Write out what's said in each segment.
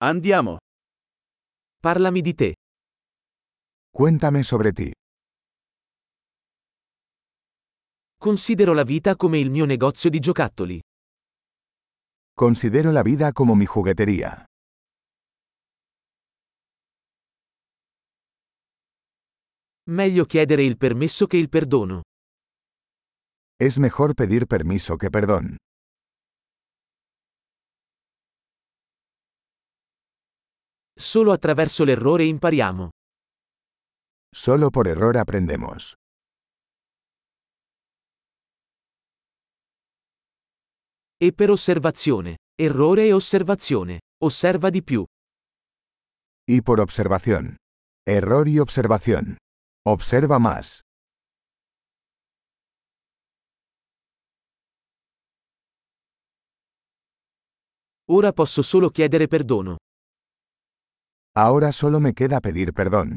Andiamo. Parlami di te. Cuéntame sobre ti. Considero la vita come il mio negozio di giocattoli. Considero la vida como mi juguetería. Meglio chiedere il permesso che il perdono. Es mejor pedir permiso que perdón. Solo attraverso l'errore impariamo. Solo por error aprendemos. E per osservazione. Errore e osservazione. Osserva di più. Y por observación. Error y observación. Observa más. Ora posso solo chiedere perdono. Ahora solo me queda pedir perdón.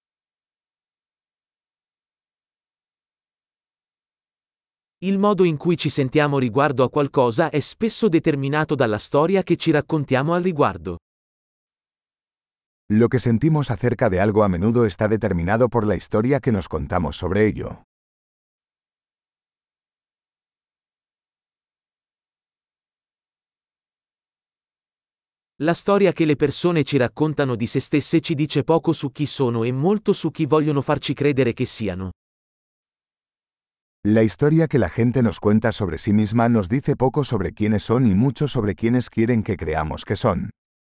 Il modo in cui ci sentiamo riguardo a qualcosa è spesso determinato dalla storia che ci raccontiamo al riguardo. Lo que sentimos acerca de algo a menudo está determinado por la historia que nos contamos sobre ello. La storia che le persone ci raccontano di se stesse ci dice poco su chi sono e molto su chi vogliono farci credere che siano. La historia que la gente nos cuenta sobre sí misma nos dice poco sobre quiénes son y mucho sobre quiénes quieren que creamos que son.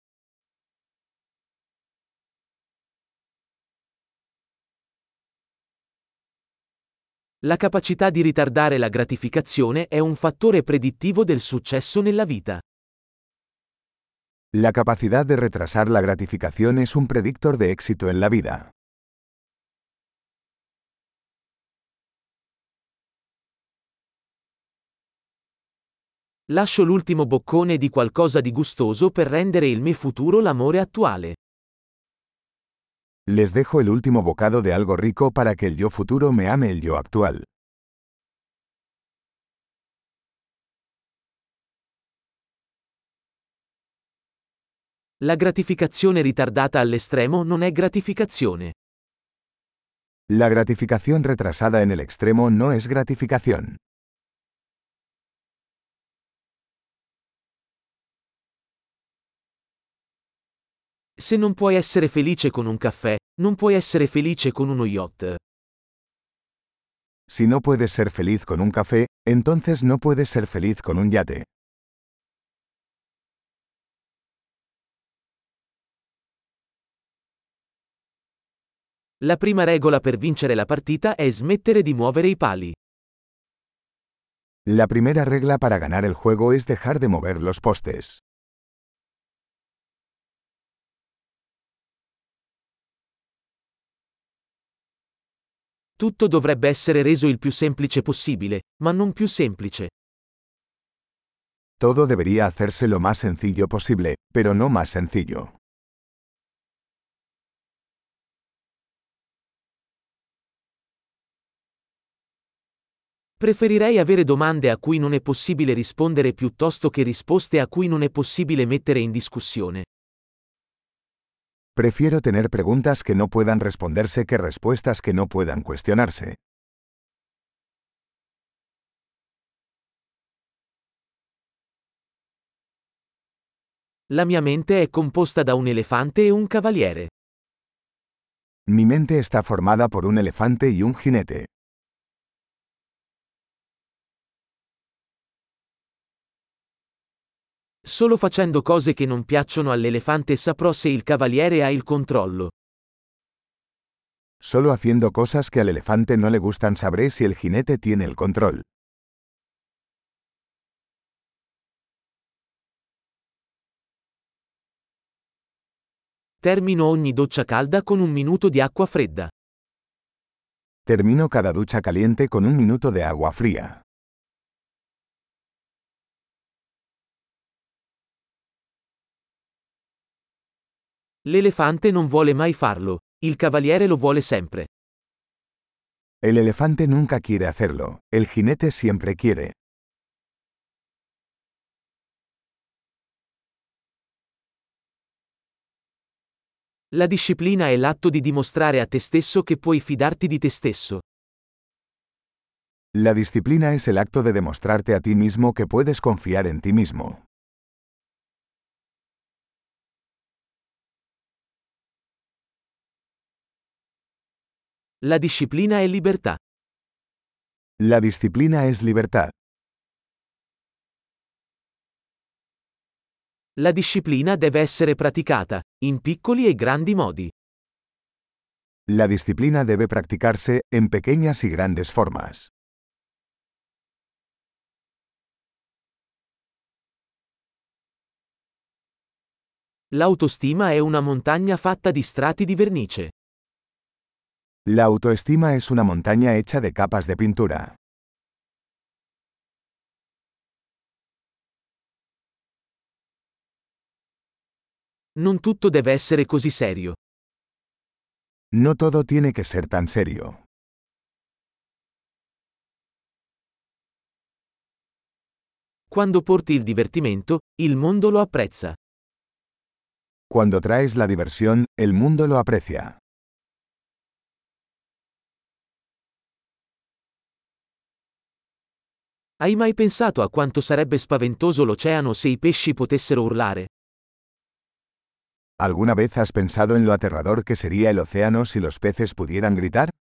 La capacità di ritardare la gratificazione è un fattore predittivo del successo nella vita. La capacidad de retrasar la gratificación es un predictor de éxito en la vida. Lascio l'ultimo boccone di qualcosa di gustoso per rendere il me futuro l'amore attuale. Les dejo el último bocado de algo rico para que el yo futuro me ame el yo actual. La gratificazione ritardata all'estremo non è gratificazione. La gratificación retrasada en el extremo no es gratificación. Se non puoi essere felice con un caffè, non puoi essere felice con uno yacht. Si no puedes ser feliz con un café, entonces no puedes ser feliz con un yate. La prima regola per vincere la partita è smettere di muovere i pali. La primera regla para ganar el juego es dejar de mover los postes. Tutto dovrebbe essere reso il più semplice possibile, ma non più semplice. Todo debería hacerse lo más sencillo posible, pero no más sencillo. Preferirei avere domande a cui non è possibile rispondere piuttosto che risposte a cui non è possibile mettere in discussione. Prefiero tener preguntas que no puedan responderse que respuestas que no puedan cuestionarse. La mia mente è composta da un elefante e un cavaliere. Mi mente está formada por un elefante y un jinete. Solo facendo cose che non piacciono all'elefante saprò se il cavaliere ha il controllo. Solo haciendo cosas que al elefante no le gustan sabré si el jinete tiene el control. Termino ogni doccia calda con un minuto di acqua fredda. Termino cada ducha caliente con un minuto de agua fría. L'elefante non vuole mai farlo, il cavaliere lo vuole sempre. El elefante nunca quiere hacerlo, el jinete siempre quiere. La disciplina è l'atto di dimostrare a te stesso che puoi fidarti di te stesso. La disciplina es el acto de demostrarte a ti mismo que puedes confiar en ti mismo. La disciplina è libertà. La disciplina es libertad. La disciplina deve essere praticata, in piccoli e grandi modi. La disciplina debe practicarse, en pequeñas y grandes formas. L'autostima è una montagna fatta di strati di vernice. La autoestima es una montaña hecha de capas de pintura. Non tutto deve essere così serio. No todo tiene que ser tan serio. Quando porti il divertimento, il mondo lo apprezza. Cuando traes la diversión, el mundo lo aprecia. Hai mai pensato a quanto sarebbe spaventoso l'oceano se i pesci potessero urlare? ¿Alguna vez has pensado en lo aterrador que sería el océano si los peces pudieran gritar?